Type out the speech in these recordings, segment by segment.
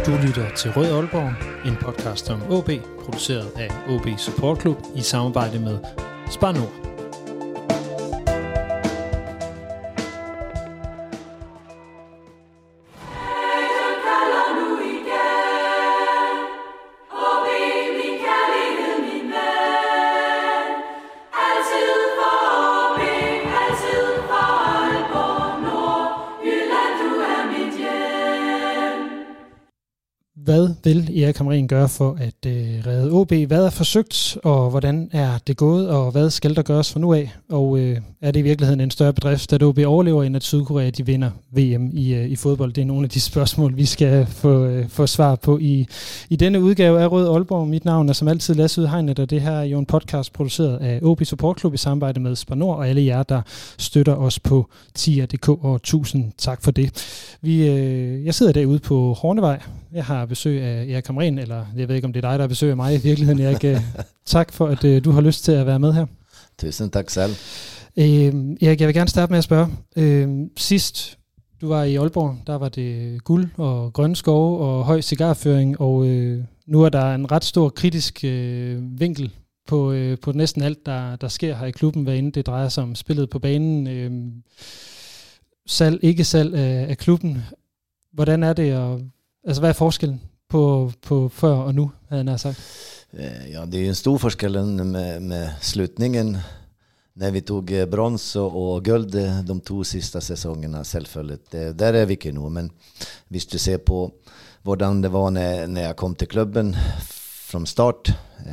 Du lytter til Rød Aalborg, en podcast om OB, produceret af OB Support Club i samarbejde med Spar Nord. Hvad vil Erik Hamrén gøre for at redde OB? Hvad er forsøgt, og hvordan er det gået, og hvad skal der gøres fra nu af? Og er det i virkeligheden en større bedrift, at OB overlever, end at Sydkorea de vinder VM i fodbold? Det er nogle af de spørgsmål, vi skal få svar på i denne udgave af Rød Aalborg. Mit navn er som altid Lasse Udhegnet, og det her er jo en podcast produceret af OB Support Club i samarbejde med Spar Nord, og alle jer, der støtter os på tier.dk, og tusind tak for det. Jeg sidder derude på Hornevej. Jeg har besøg af Erik Hamrén, eller jeg ved ikke, om det er dig, der har besøg af mig i virkeligheden, Erik. Tak for, at du har lyst til at være med her. Tusind tak selv. Erik, jeg vil gerne starte med at spørge. Sidst du var i Aalborg, der var det guld og grønne skove og høj cigarføring, og nu er der en ret stor kritisk vinkel på næsten alt, der sker her i klubben, hvad end det drejer sig om spillet på banen, salg, ikke salg af klubben. Hvordan er det, og altså hvad er forskellen på før og nu, havde jeg sagt? Ja, det är en stor forskel med slutningen när vi tog brons och guld de 2 sista säsongerna självfallet. Där är vi inte nu, men hvis du ser på hvordan det var när jag kom till klubben från start,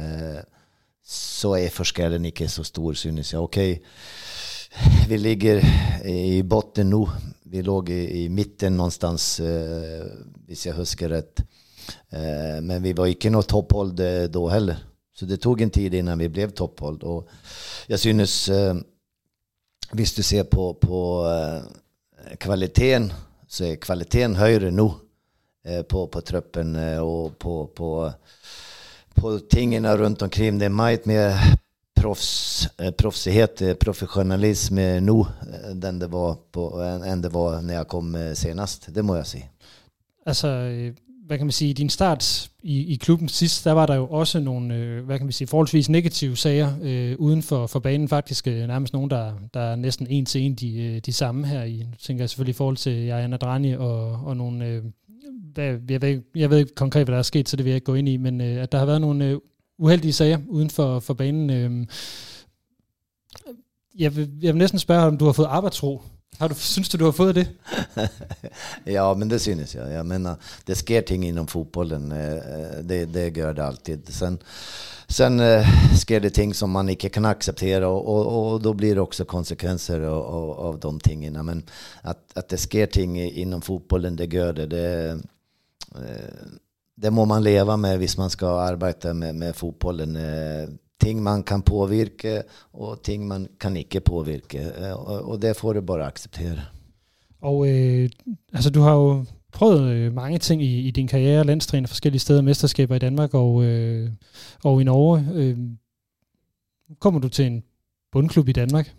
så är forskellen inte så stor, synes jag. Okej, vi ligger i botten nu. Vi låg i mitten någonstans, hvis jag huskar rätt. Men vi var inte något topphold då heller. Så det tog en tid innan vi blev topphold. Och jag synes, hvis du ser på kvaliteten, så är kvaliteten högre nu på truppen och på tingarna runt omkring. Det är mycket mer proffsighet, professionalism nu än det var när jag kom senast. Det må jeg sige. Altså, hvad kan man sige, i din start i klubben sidst, der var der jo også nogle, hvad kan man sige, forholdsvis negative sager uden for banen, faktisk nærmest nogen, der er næsten en til en de samme her i, tænker jeg selvfølgelig i forhold til Jana Drani og nogle, jeg ved ikke konkret, hvad der er sket, så det vil jeg ikke gå ind i, men at der har været nogle uheldige sager uden for banen. Jeg vil næsten spørge, om du har fået arbejdsro. Synes du har fået det? Ja, men det synes jag. Jag menar, det sker ting inom fotbollen. Det gör det alltid. Sen sker det ting som man inte kan acceptera, och då blir det också konsekvenser av de tingarna. Men att det sker ting inom fotbollen, det gör det. Det må man leva med hvis man ska arbeta med fotbollen. Ting man kan påvirke, og ting man kan ikke påvirke, og det får du bare acceptere. Og altså du har jo prøvet mange ting i din karriere, landstræner forskellige steder, mesterskaber i Danmark og i Norge. Kommer du til en bundklub i Danmark?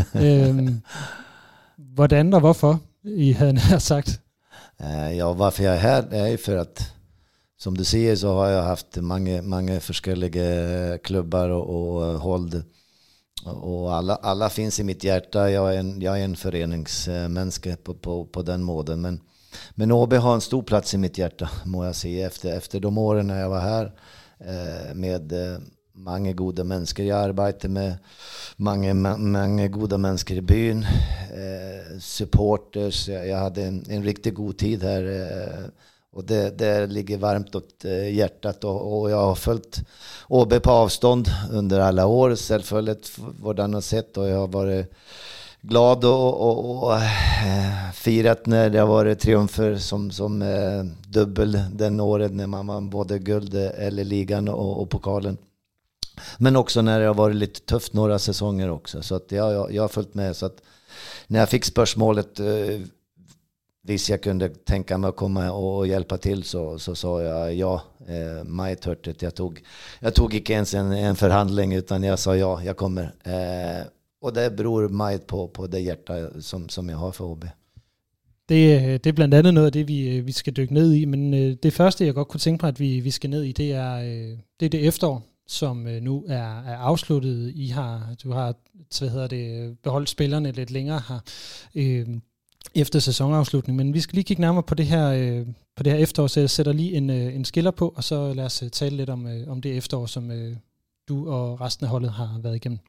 Hvordan og hvorfor, I havde nær sagt? Ja, varför jag är här är för att, som du säger, så har jag haft många forskelliga klubbar och håll, och alla finns i mitt hjärta. Jag är en föreningsmänniska på den måten, men OB har en stor plats i mitt hjärta, må jag säga, efter de åren när jag var här med många goda människor. Jag arbetade med många goda människor i byn, supporters. Jag hade en riktigt god tid här. Och det ligger varmt åt hjärtat, och jag har följt OB på avstånd under alla år, självfallet hvordan har sett, och jag har varit glad och firat när det har varit triumfer som dubbel den året när man vann både guld eller ligan och pokalen. Men också när det har varit lite tufft några säsonger också, så att jag har följt med. Så att när jag fick spörsmålet hvis jag kunde tänka mig att komma och hjälpa till, så sa jag ja, Majt hörtet. Jag tog inte ens en förhandling, utan jag sa ja, jag kommer. Och det beror Majt på det hjärta som jag har för OB. Det er blandt andet noget af det, vi skal dykke ned i, men det første, jeg godt kunne tænke mig, at vi skal ned i, det er det efterår, som nu er afsluttet. Du har beholdt spillerne lidt længere her efter sæsonafslutning, men vi skal lige kigge nærmere på det her efterår, så jeg sætter lige en skiller på, og så lad os tale lidt om det efterår, som du og resten af holdet har været igennem.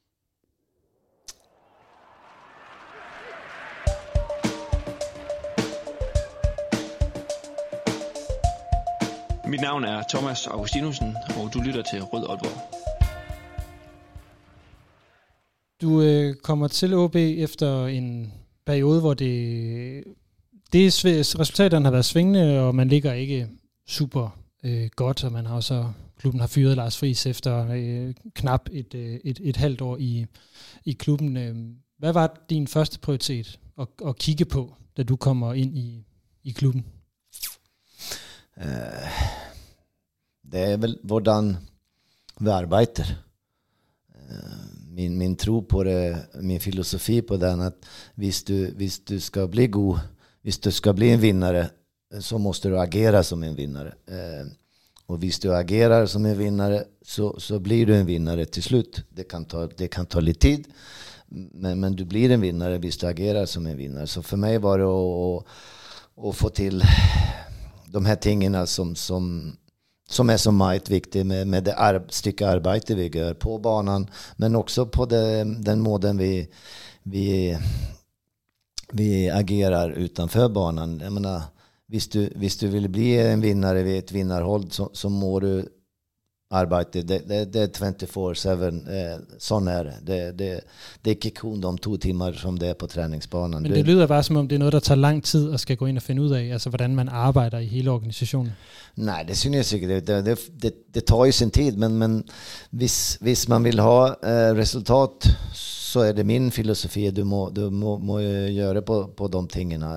Mit navn er Thomas Augustinussen, og du lytter til Rød Aalborg. Du kommer til OB efter en periode, hvor resultaterne har været svingende, og man ligger ikke super godt, og man har også klubben har fyret Lars Friis efter knap et halvt år i klubben. Hvad var din første prioritet at kigge på, da du kommer ind i klubben? Det är väl hvordan vi arbetar. Min tro på det, min filosofi på den, att hvis du ska bli god, hvis du ska bli en vinnare, så måste du agera som en vinnare. Och hvis du agerar som en vinnare, så blir du en vinnare till slut. Det kan ta lite tid, men du blir en vinnare hvis du agerar som en vinnare. Så för mig var det att få till de här tingarna som är så mycket viktigt med det stycke arbete vi gör på banan, men också på den måten vi agerar utanför banan. Jag menar, hvis du vill bli en vinnare vid ett vinnarhåll, så må du arbete. Det är 24/7, sån är det. Det är inte kun de 2 timmar som det är på träningsbanan. Men det lyder bare som om det er noget, der tager lang tid og skal gå ind og finde ud af, altså hvordan man arbejder i hele organisationen. Nej, det synes jeg ikke. Det tar ju sin tid, men hvis man vill ha resultat, så är det min filosofi. Du må göra på de tingarna.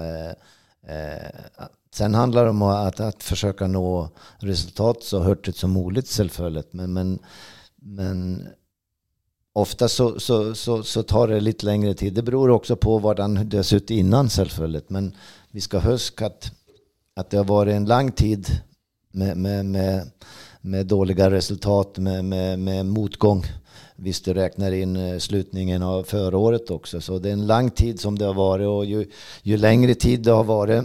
Sen handlar det om att försöka nå resultat så hurtigt som möjligt, självfallet. Men ofta så tar det lite längre tid. Det beror också på hvordan det har sett innan, självfallet. Men vi ska huska att det har varit en lång tid med dåliga resultat, med motgång. Hvis du räknar in slutningen av förra året också. Så det är en lång tid som det har varit, och ju längre tid det har varit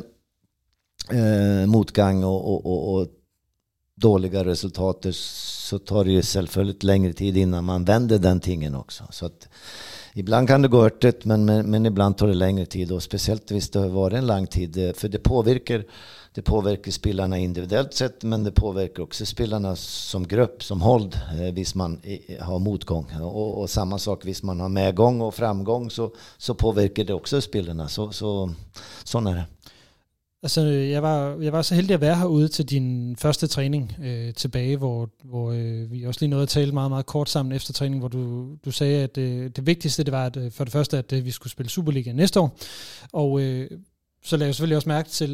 motgång och dåliga resultat, så tar det ju självfallet längre tid innan man vänder den tingen också. Så att ibland kan det gå örtigt, men ibland tar det längre tid, och speciellt hvis det har varit en lång tid, för det påverkar spelarna individuellt sett, men det påverkar också spelarna som grupp, som håll, hvis man har motgång, och samma sak hvis man har medgång och framgång, så påverkar det också spelarna. Sån är det. Altså, jeg var så heldig at være herude til din første træning tilbage, hvor vi også lige nåede at tale meget, meget kort sammen efter træning, hvor du sagde, at det vigtigste, det var at, for det første, at vi skulle spille Superliga næste år. Og så lagde jeg selvfølgelig også mærke til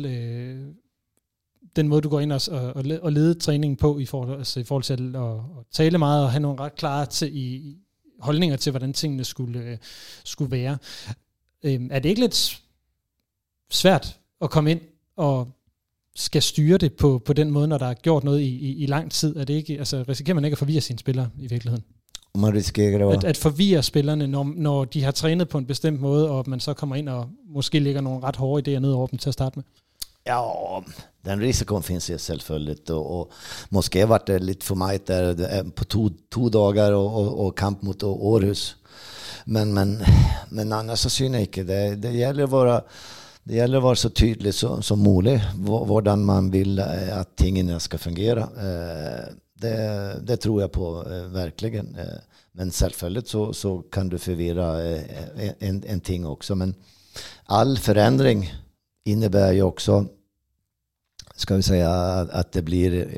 den måde, du går ind og leder træningen på, i forhold til at tale meget og have nogle ret klare holdninger til, hvordan tingene skulle være. Er det ikke lidt svært at komme ind og skal styre det på den måde, når der er gjort noget i lang tid? Er det ikke, altså, risikerer man ikke at forvirre sine spillere i virkeligheden? Man risikerer at forvirre spillerne, når de har trænet på en bestemt måde, og man så kommer ind og måske lægger nogle ret hårde idéer ned over dem til at starte med? Ja, den risken finns ju självfallet, och måske var det lite för mig där på två dagar och kamp mot Århus. Men annars så syns inte det gäller att vara så tydlig som möjligt hvordan man vill att tingene ska fungera. Det tror jag på verkligen. Men självfallet så kan du förvirra en ting också. Men all förändring innebär ju också, ska vi säga, att det blir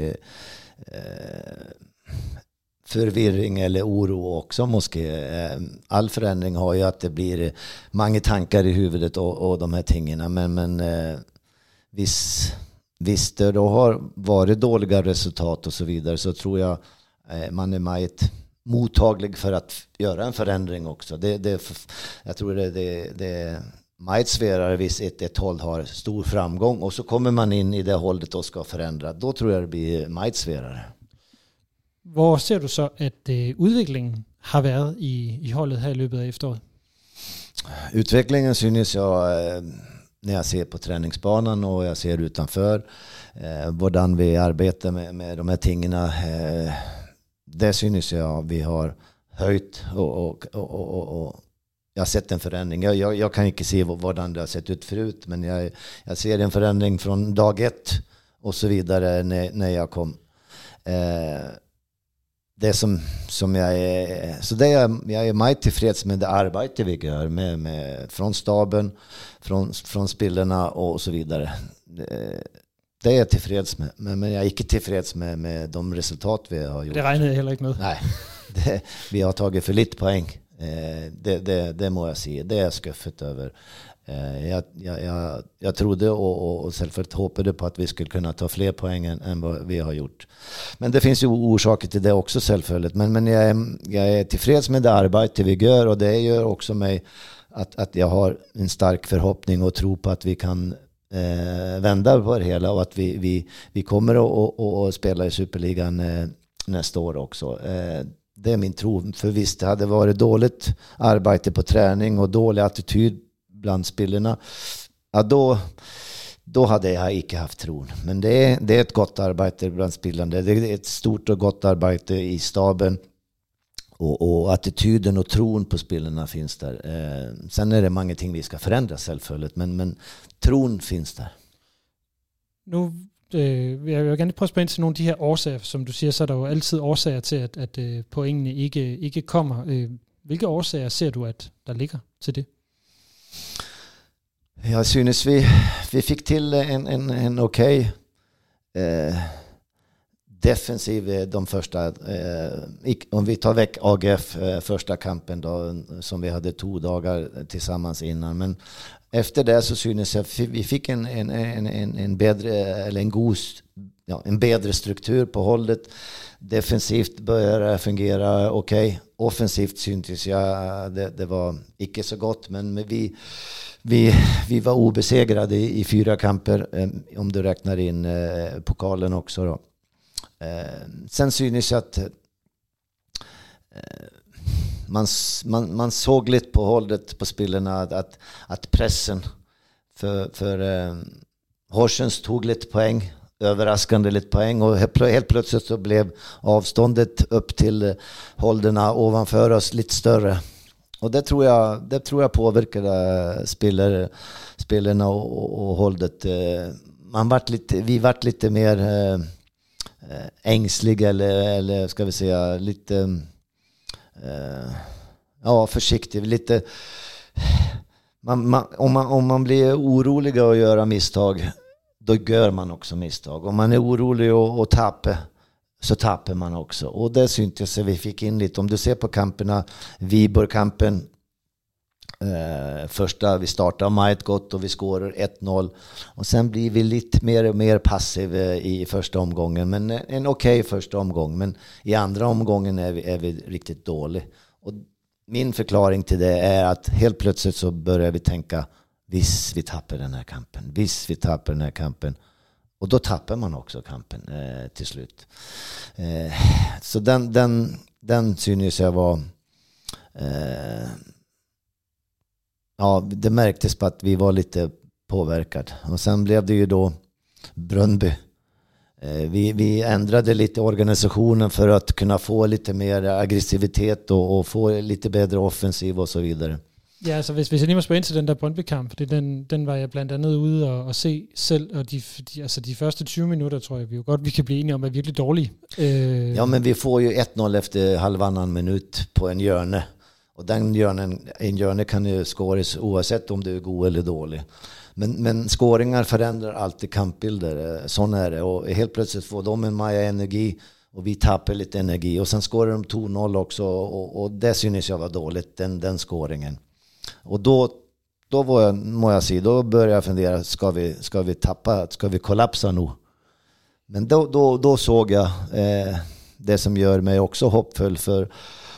förvirring eller oro också. All förändring har ju att det blir många tankar i huvudet och de här tingarna. Men visst det då har varit dåliga resultat och så vidare, så tror jag man är mycket mottaglig för att göra en förändring också. Jag tror det Majtsverare vis ett håll har stor framgång och så kommer man in i det hållet och ska förändra. Då tror jag det blir Majtsverare. Hvor ser du så, at udviklingen har været i holdet her i løbet af efteråret? Utvecklingen synes jag när jag ser på träningsbanan och jag ser utanför hvordan vi arbetar med de här tingarna. Det synes jag vi har höjt och jag har sett en förändring. Jag kan inte se hvordan det har sett ut förut, men jag ser en förändring från dag 1 och så vidare när jag kom. Det som jag är, så det jag är mycket tillfreds med det arbete vi gör med från staben, från spelarna och så vidare. Det är jag tillfreds med, men jag är inte tillfreds med de resultat vi har gjort. Det regnede jag heller inte med. Nej, vi har tagit för lite poäng. Det må jag säga. Det är jag skuffet över. Jag trodde och självklart hoppade på att vi skulle kunna ta fler poäng än vad vi har gjort. Men det finns ju orsaker till det också självklart. Men jag är tillfreds med det arbete vi gör, och det gör också mig att jag har en stark förhoppning och tro på att vi kan vända på det hela, och att vi kommer att spela i Superligan nästa år också. Det är min tro. För visst, det hade varit dåligt arbete på träning och dålig attityd bland spelarna, ja, då hade jag inte haft tron. Men det är ett gott arbete bland spelarna. Det är ett stort och gott arbete i staben, och attityden och tron på spelarna finns där. Sen är det många ting vi ska förändra självföljd, men tron finns där. Nu jeg vil gerne prøve at spørge ind til nogle af de her årsager, som du siger, så er der jo altid årsager til, at pointene ikke kommer. Hvilke årsager ser du, at der ligger til det? Jag synes vi fick till en okej defensiv de första, om vi tar väck AGF första kampen då, som vi hade 2 dagar tillsammans innan, men efter det så synes jag vi fick en bättre, eller en bättre struktur på hållet. Defensivt började fungera okej. Offensivt syntes jag det var inte så gott, men vi var obesegrade i 4 kamper, om du räknar in pokalen också då. Sen synes jag att man såg lite på hållet på spelarna att pressen för Horsens tog lite poäng, överraskande lite poäng, och helt plötsligt så blev avståndet upp till hållerna ovanför oss lite större. Och det tror jag påverkade spelarna och hållet. Vi vart lite mer ängsliga, eller ska vi säga lite försiktig, lite om man blir orolig och göra misstag, då gör man också misstag. Om man är orolig och tappar, så tappar man också. Och det syntes vi fick in lite. Om du ser på kamperna, Viborg-kampen, första vi startar meget gott och vi skårar 1-0, och sen blir vi lite mer och mer passiv i första omgången, men en okej första omgång, men i andra omgången är vi riktigt dålig. Och min förklaring till det är att helt plötsligt så börjar vi tänka, visst vi tappar den här kampen, och då tappar man också kampen till slut. Så den synes jag var det märktes på att vi var lite påverkade. Och sen blev det ju då Bröndby. Vi ändrade lite organisationen för att kunna få lite mer aggressivitet og få lite bättre offensiv och så vidare. Ja, altså hvis jeg lige må spørge ind til den der Brøndby-kamp, fordi den var jeg blandt andet ude og se selv, og de første 20 minutter, tror jeg, vi kan blive enige om, er virkelig dårlige. Ja, men vi får ju 1-0 efter halvannan minut på en hjørne. Och en hjørne kan ju skåres oavsett om du är god eller dålig. Men skåringar förändrar alltid kampbilder. Sån är det. Och helt plötsligt får de en massa energi och vi tappar lite energi. Och sen skårar de 2-0 också. Och det synes jag var dåligt, den skåringen. Och då må jag säga, då börjar jag fundera, ska vi tappa, ska vi kollapsa nu? Men då såg jag det som gör mig också hoppfull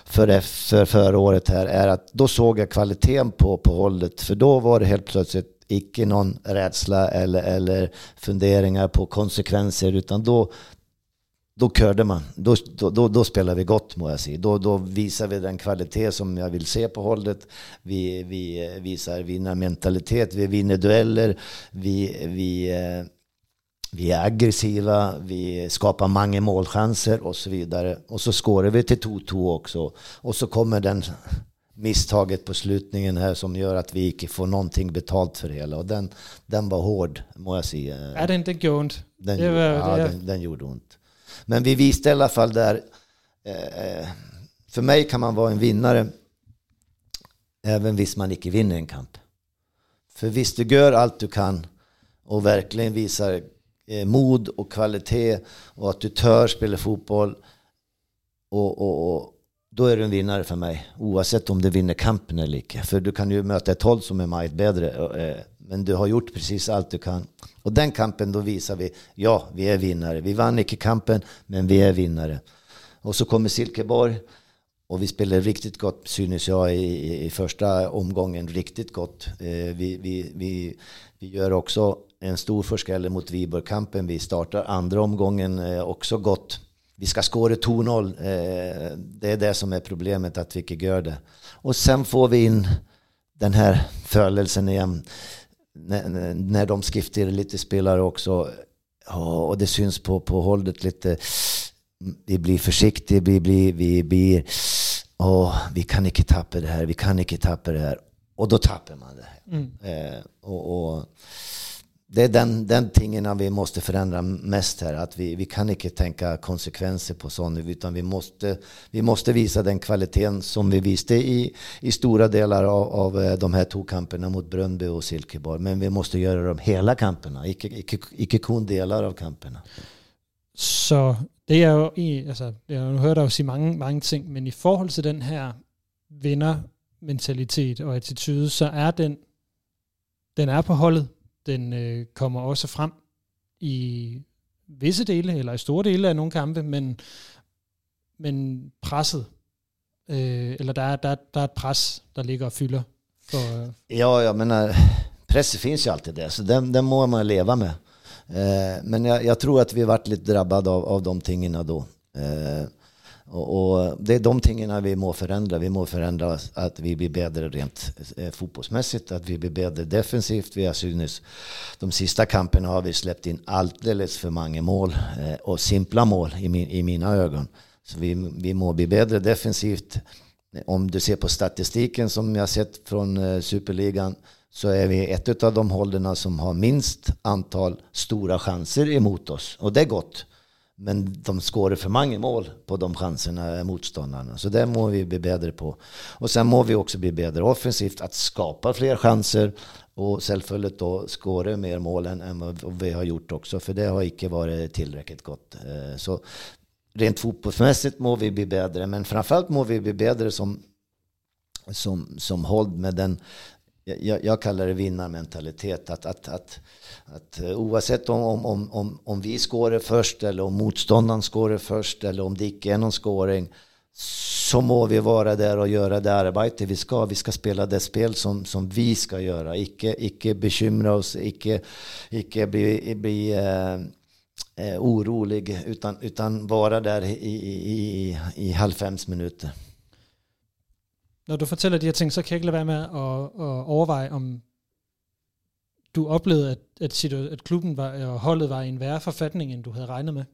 för förra året här är att då såg jag kvaliteten på hållet, för då var det helt plötsligt icke någon rädsla eller funderingar på konsekvenser, utan då körde man. Då spelar vi gott, må jag säga. Då visar vi den kvalitet som jag vill se på hållet. Vi visar vinnarmentalitet, vi vinner dueller, vi är aggressiva, vi skapar många målchanser och så vidare. Och så skårar vi till 2-2 också. Och så kommer den misstaget på slutningen här som gör att vi inte får någonting betalt för det hela. Och den var hård, må jag säga. Ja, den gjorde ont. Den gjorde ont. Men vi visste i alla fall där, för mig kan man vara en vinnare även hvis man inte vinner en kamp. För visst du gör allt du kan och verkligen visar mod och kvalitet och att du tör spela fotboll och då är du en vinnare för mig, oavsett om du vinner kampen eller inte. För du kan ju möta ett håll som är mycket bättre, men du har gjort precis allt du kan. Och den kampen, då visar vi, ja, vi är vinnare. Vi vann inte kampen, men vi är vinnare. Och så kommer Silkeborg och vi spelar riktigt gott, synes jag, i första omgången, riktigt gott. Vi gör också en stor förskälle mot Viborg-kampen. Vi startar andra omgången också gott. Vi ska skåra 2-0. Det är det som är problemet, att vi inte gör det. Och sen får vi in den här födelsen igen. När de skiftar lite spelare också. Och det syns på hållet lite. Vi blir försiktiga. Vi kan inte tappa det här. Vi kan inte tappa det här. Och då tappar man det här. Och det är den tingen vi måste förändra mest här, att vi kan inte tänka konsekvenser på sånt, utan vi måste visa den kvaliteten som vi visste i stora delar av de här 2 kamperna mot Brøndby och Silkeborg, men vi måste göra dem hela kamperna, ikke kun delar av kamperna. Så det er jo jeg har hørt dig jo sige mange ting, men i forhold til den her vindermentalitet og attitude, så er den er på holdet. Den kommer også frem i visse dele, eller i store dele af nogle kampe, men presset, eller der er et pres, der ligger og fylder. Ja, men presset finns ju alltid där, så den må man leva med. Men jag tror att vi varit lite drabbade av de tingarna då. Och det är de tingarna vi må förändra. Vi må förändra att vi blir bättre rent fotbollsmässigt, att vi blir bättre defensivt. Vi har synes de sista kamperna har vi släppt in alldeles för många mål och simpla mål i mina ögon. Så vi må bli bättre defensivt. Om du ser på statistiken som jag sett från Superligan, så är vi ett av de hållarna som har minst antal stora chanser emot oss. Och det är gott. Men de skårar för många mål på de chanserna, motståndarna. Så det må vi bli bättre på. Och sen må vi också bli bättre offensivt, att skapa fler chanser och självföljd då skåra mer mål än vad vi har gjort också. För det har inte varit tillräckligt gott. Så rent fotbollsmässigt må vi bli bättre. Men framförallt må vi bli bättre som håll med den. Jag kallar det vinnarmentalitet, att oavsett om vi skårar först eller om motståndaren skårar först eller om det inte är någon skåring, så må vi vara där och göra det arbete vi ska spela det spel som vi ska göra, icke bekymra oss, icke bli orolig, utan vara där i halvfems minuter. Når du fortæller de her ting, så kan jeg ikke lade være med at overveje, om du oplevede, at klubben og holdet var i en værre forfatning, end du havde regnet med?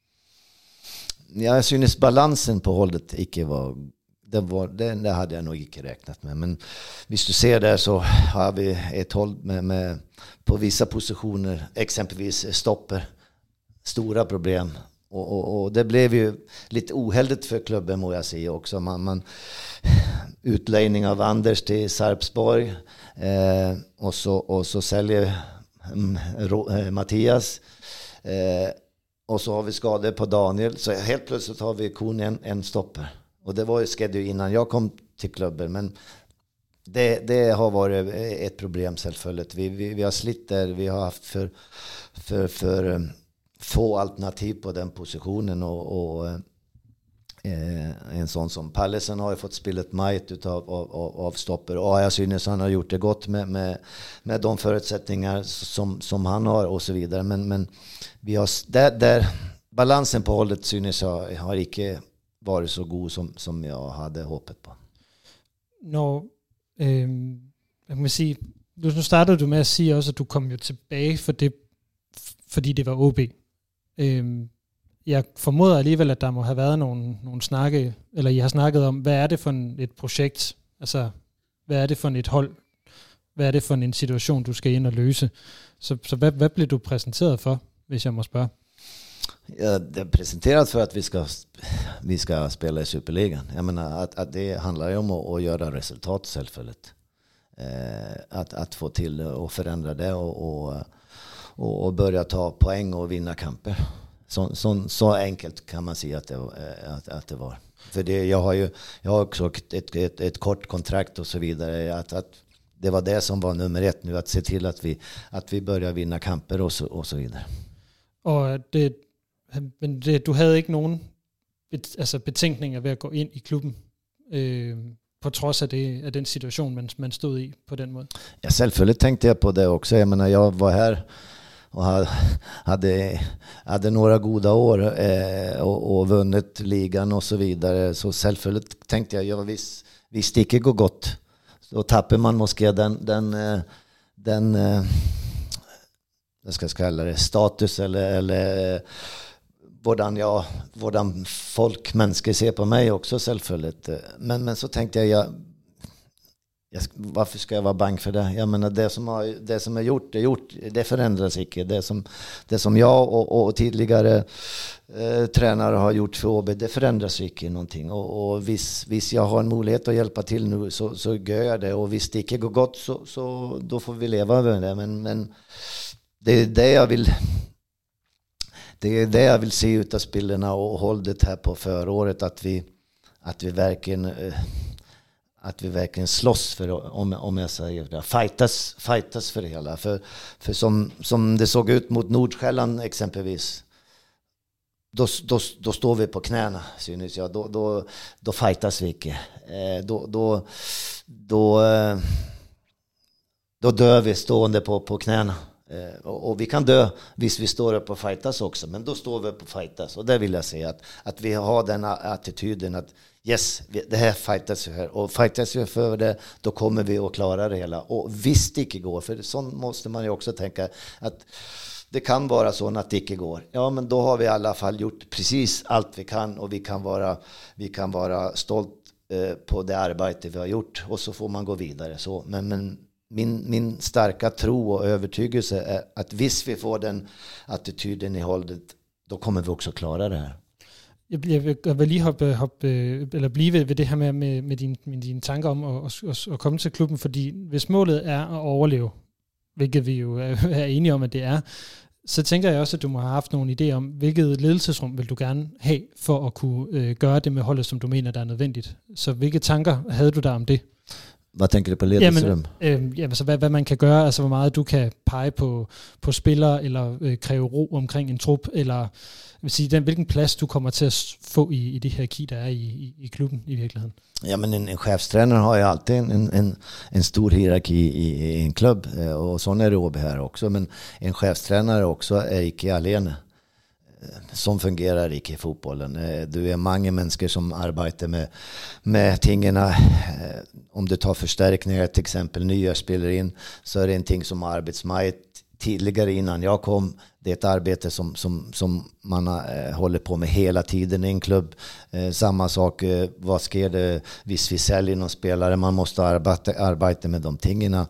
Jag synes balansen på hållet ikke var... Det hade jag nog inte räknat med. Men hvis du ser där så har vi ett håll med på vissa positioner, exempelvis stopper, stora problem. Och det blev ju lite ohälligt för klubben, må jag säga också. Man utlejning av Anders till Sarpsborg och så säljer Mattias och så har vi skador på Daniel, så helt plötsligt har vi kun en stopper, och det var ju skedd innan jag kom till klubben, men det har varit ett problem självföljd. Vi har slitt där, vi har haft för få alternativ på den positionen, och En sån som Pallesen har ju fått spillet majt av stopper, och jag synes han har gjort det gott med de förutsättningar som han har och så vidare, men vi har där balansen på hållet synes jag har ikke varit så god som jag hade hoppet på. Når jeg kan sige, nu startede du med at sige også, at du kom jo tilbage fordi det var OB. Jeg formoder alligevel, at der må have været nogle snakke, eller I har snakket om, hvad er det for et projekt? Altså, hvad er det for et hold? Hvad er det for en situation, du skal ind og løse? Så hvad blev du præsenteret for, hvis jeg må spørge? Ja, det är presenterat för att vi ska spela i Superligan. Jag menar att det handlar ju om att göra resultat självfallet. Att få till och förändra det och börja ta poäng och vinna kamper. Så enkelt kan man säga att det var. För jag har också ett kort kontrakt och så vidare, att det var det som var nummer 1 nu, att se till att vi börjar vinna kamper och så vidare. Og du havde ikke nogen betænkninger ved at gå ind i klubben, på trods af den situation, man stod i på den måde? Ja, självklart tänkte jag på det också. Jag menar, jag var här och hade några goda år och vunnit ligan och så vidare. Så självklart tänkte jag visst ikke gå gott. Då tappar man måske den jag ska kalla det status eller hvordan folk, människor ser på mig också självklart. Men så tänkte jag varför ska jag vara bang för det? Jag menar, det som är gjort, det förändras inte. Det som jag och tidigare tränare har gjort för OB, det förändras inte någonting. Och hvis jag har en möjlighet att hjälpa till nu, så gör jag det. Och hvis det inte går gott, så då får vi leva med det. Men det är det jag vill. Det är det jag vill se ut av spelarna och hållet här på föråret, att vi verkligen slåss för, om jag säger det, fightas för det hela. För som det såg ut mot Nordsjälland exempelvis, då står vi på knäna, synes jag. Då fightas vi inte. Då dör vi stående på knäna. Och vi kan dö hvis vi står upp och fightas också, men då står vi upp och fightas. Och det vill jag säga, att vi har den attityden att yes, det här fightas vi här, och fightas vi för det, då kommer vi att klara det hela. Och visst det inte går, för sånt måste man ju också tänka, att det kan vara så att det inte går. Ja, men då har vi i alla fall gjort precis allt vi kan, och vi kan vara stolt på det arbete vi har gjort, och så får man gå vidare så. Men min starka tro och övertygelse är att hvis vi får den attityden i hållet, då kommer vi också klara det här. Jeg vil lige hoppe eller blive ved det her med dine tanker om at komme til klubben, fordi hvis målet er at overleve, hvilket vi jo er enige om, at det er, så tænker jeg også, at du må have haft nogle idéer om, hvilket ledelsesrum vil du gerne have for at kunne gøre det med holdet, som du mener, der er nødvendigt. Så hvilke tanker havde du der om det? Hvad tænker du på ledelsesrum? Jamen, så hvad man kan gøre, altså hvor meget du kan pege på spillere, eller kræve ro omkring en trup, eller vil sige, hvilken plads du kommer til at få i det hierarki, der er i klubben i virkeligheden. Ja, men en chefstränare har ju alltid en stor hierarki i en klubb, och sån är det OB här också. Men en chefstränare också är inte alene. Som fungerar inte i fotbollen. Du är många människor som arbetar med tingarna. Om du tar förstärkningar, till exempel nya spelare in, så är det en ting som arbetsmajt tidigare innan jag kom. Det är ett arbete som man håller på med hela tiden i en klubb. Samma sak, vad sker det hvis vi säljer någon spelare? Man måste arbeta med de tingarna.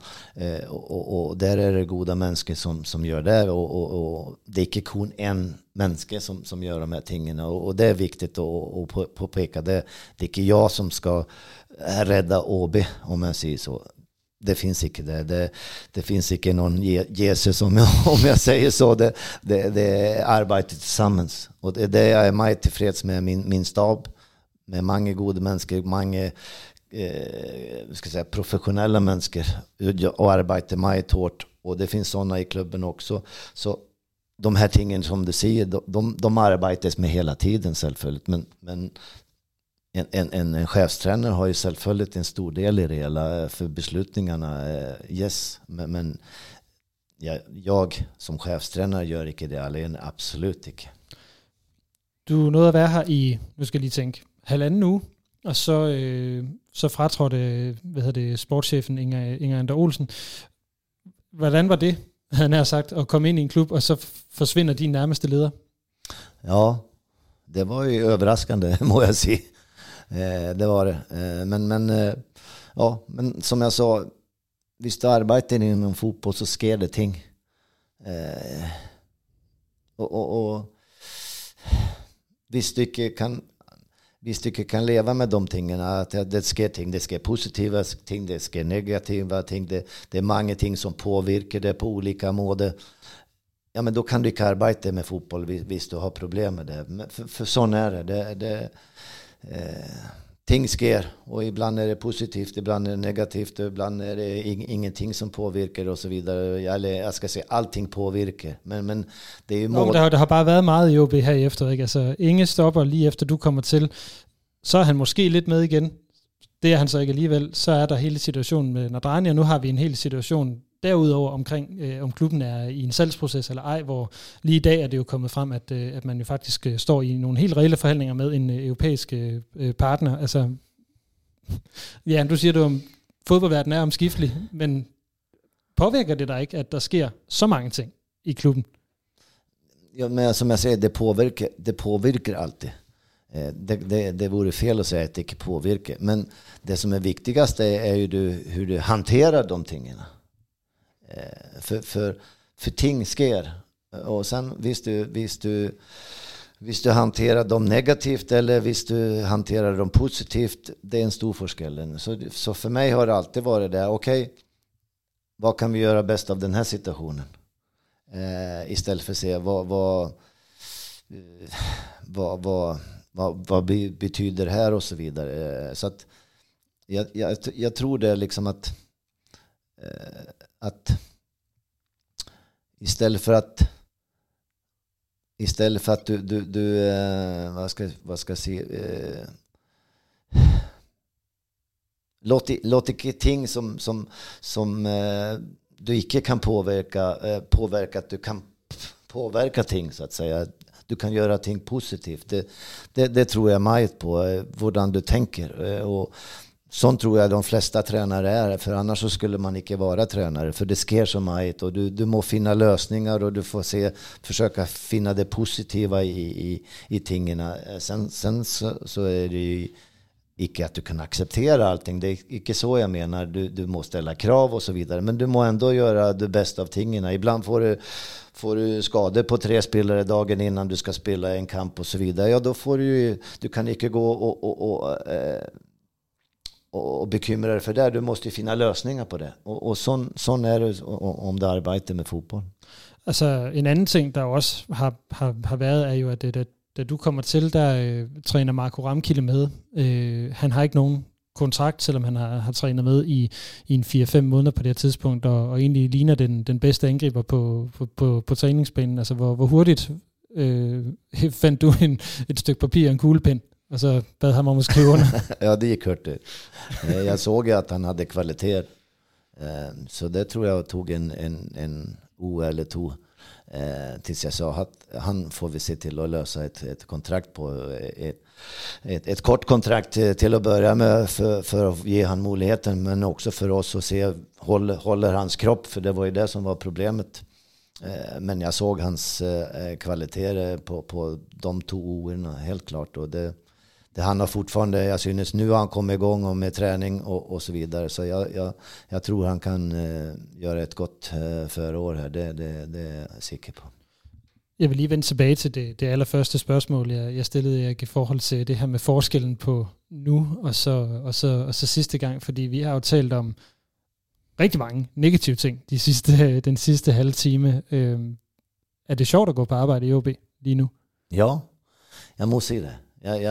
Och där är det goda människor som gör det. Och det är inte kun en människa som gör de här tingarna. Och det är viktigt att påpeka. Det är inte jag som ska rädda OB, om jag säger så. Det finns inte det finns inte någon Jesus, om jag säger så. Det är arbetet tillsammans, och det är det jag är mig tillfreds med min stab, med många goda människor, många professionella människor, och arbetar mig hårt, och det finns sådana i klubben också. Så de här tingen som du säger, de arbetas med hela tiden självföljt, men en chefstränare har ju självföljt en stor del i det hela för beslutningarna. Yes, men jag som chefstränare gör ikke det alene, absolut ikke. Du nåede at være her i, nu skal jeg lige tænke, 1,5 uge, og så fratrådte sportschefen Inger Ander Olsen. Hvordan var det, han har sagt, at komme ind i en klub, og så forsvinder din nærmeste leder? Ja, det var ju överraskande, må jag säga. Det var det. Men som jag sa, hvis du arbetar inom fotboll så sker det ting. Och hvis du ikke kan leva med de tingene, at det sker ting, det sker positiva ting, det sker negativa ting, det är många ting som påvirker det på olika måder. Ja, men då kan du inte arbeta med fotboll hvis du har problem med det. För sån är det. Ting sker, och ibland är det positivt, ibland är det negativt, ibland är det ingenting som påvirker och så vidare. Eller jag ska säga, allting påvirker. Men det är ju mål. Der har bare været meget i OB her efter, ikke? Altså, Inge stopper lige efter du kommer til. Så er han måske lidt med igen. Det er han så ikke alligevel. Så er der hele situationen med Nadrani, og nu har vi en hel situation derudover omkring, om klubben er i en salgsproces eller ej, hvor lige i dag er det jo kommet frem, at man jo faktisk står i nogle helt reelle forhandlinger med en europæisk partner. Altså, ja, du siger, at fodboldverdenen er omskiftelig, men påvirker det dig ikke, at der sker så mange ting i klubben? Ja, men som jag säger, det påvirker alltid. Det vore fel att säga att det inte påvirker. Men det som är viktigast är ju hur du hanterar de tingarna. För ting sker. Och sen hvis du hanterar dem negativt eller hvis du hanterar dem positivt, det är en stor forskell. Så för mig har det alltid varit det. Okej, vad kan vi göra bäst av den här situationen? Istället för att se vad betyder det här och så vidare. Så att jag tror det är liksom att istället för att du vad ska jag säga, låt inte ting som du inte kan påverka att du kan påverka ting, så att säga. Du kan göra ting positivt. Det tror jag mycket på, hur du tänker. Och sånt tror jag de flesta tränare är, för annars så skulle man inte vara tränare, för det sker så mycket och du må finna lösningar och du får försöka finna det positiva i tingarna. Sen så är det ju inte att du kan acceptera allting, det är inte så jag menar. Du måste ställa krav och så vidare, men du må ändå göra det bästa av tingarna. Ibland får du skador på 3 spelare dagen innan du ska spela en kamp och så vidare. Ja, då får du kan inte gå och bekymra dig för det. Du måste finna lösningar på det. Och sån är det om du arbetar med fotboll. Altså, en anden ting, der også har været, er jo, at da du kommer til, der træner Marco Ramkilde med. Han har ikke nogen kontrakt, selvom han har trænet med i en 4-5 måneder på det her tidspunkt, og egentlig ligner den bedste angriber på træningsbanen. Altså, hvor hurtigt fandt du et stykke papir og en kuglepen, og så bad han om at skrive under? Ja, det gick hurtigt. Jag såg att han hade kvalitet. Så det tror jag tog en eller 2 tills jag sa att han får vi se till att lösa ett kontrakt på ett kort kontrakt till att börja med för att ge han möjligheten, men också för oss att se håller hans kropp, för det var ju det som var problemet. Men jag såg hans kvaliteter på de 2 åren helt klart, och det han har fortfarande, jag synes nu har han kommit igång och med träning och så vidare, så jag tror han kan göra ett gott förår här, det är jag säker på. Jeg vil lige vende tilbage til det allerførste spørgsmål, jeg stillede jer i forhold til det her med forskellen på nu og så sidste gang, fordi vi har jo talt om rigtig mange negative ting den sidste halve time. Er det sjovt at gå på arbejde i OB lige nu? Ja, jag måste säga det.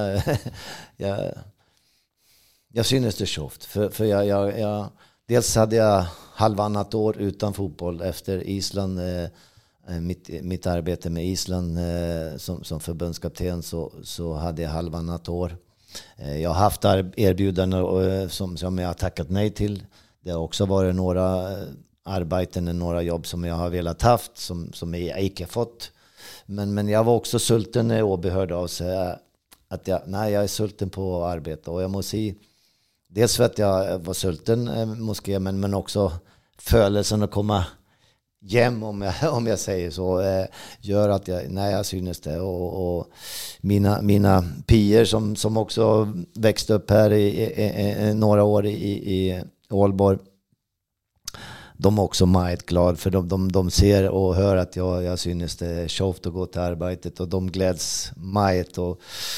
Jag synes det sjovt, för jag dels hade jag halvannat år utan fotboll efter Island, mitt arbete med Island som förbundskapten, så hade jag halvannat år Jag har haft erbjudanden som jag har tackat nej till. Det har också varit några arbeten, några jobb som jag har velat haft som jag inte fått. Men jag var också sulten när Åby hörde av sig att jag är sulten på att arbeta. Och jag måste säga, dels för att jag var sulten men också födelsen att komma hem, om jag säger så, gör att jag synes det. Och mina pier som också växte upp här i några år i Ålborg, de är också meget glad, för de ser och hör att jag synes det är tjofft att gå till arbetet, och de gläds meget, och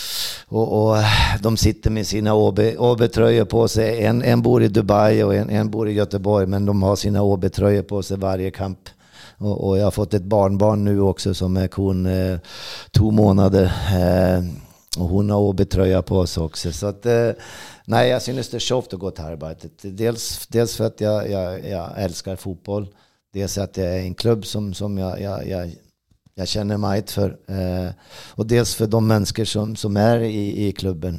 de sitter med sina OB-tröjor på sig. En bor i Dubai och en bor i Göteborg, men de har sina OB-tröjor på sig varje kamp. Och jag har fått ett barnbarn nu också som är 2 månader, och hon har OB-tröja på sig också. Så att jag synes det är tjofft att gå till arbetet. Dels för att jag älskar fotboll. Dels att det är en klubb som jag känner mig för. Och dels för de människor som är i klubben.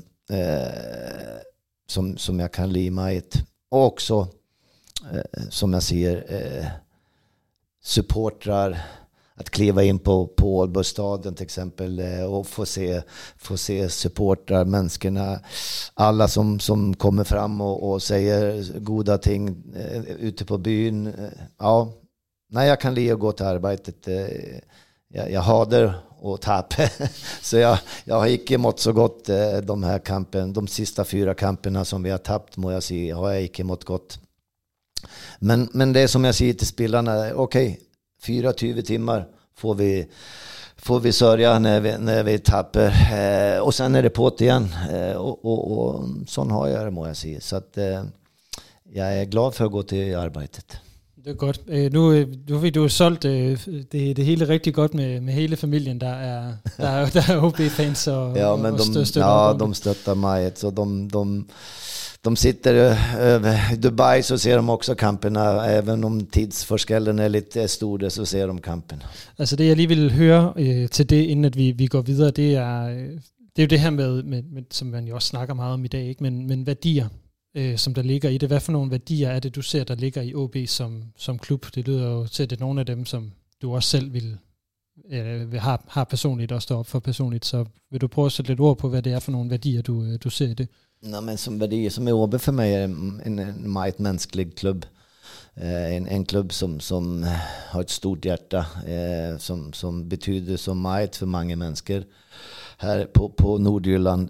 Som jag kan lida mig. Och också, som jag ser, supportrar. Att kliva in på Ålborgsstadion till exempel och få se supportrar, människorna, alla som kommer fram och säger goda ting ute på byn. Jag kan lida och gå till arbetet. Jag hader och tappa. Så jag har inte mått så gott de här kampen. De sista 4 kamperna som vi har tappat, må jag säga, har jag inte mått gott. Men det är som jag säger till spelarna, okej, 24 timmar får vi sörja när vi tappar, och sen är det på igen, och sån har jag det, må jag säga. Så att jag är glad för att gå till arbetet. Det är godt. Nu har du solgt det hele rigtig godt med hele familien, der er OB-fans og ja, men de stöttar mig. Så de sitter i Dubai, så ser de också kamperna. Även om tidsforskellen är lite stor, så ser de kampen. Altså det jeg lige vil høre til det, inden at vi går videre, det er jo det her med som man jo også snakker meget om i dag, ikke? Men værdier, som der ligger i det. Hvad for nogle værdier er det, du ser, der ligger i OB som klub? Det lyder jo til, at det er nogle af dem, som du også selv har personligt og står op for personligt. Så vil du prøve at sætte lidt ord på, hvad det er for nogle værdier, du ser i det? Nej, men som værdier, som är OB för mig är en meget mänsklig klubb. En klubb som har ett stort hjärta, som betyder så meget för många människor här på Nordjylland.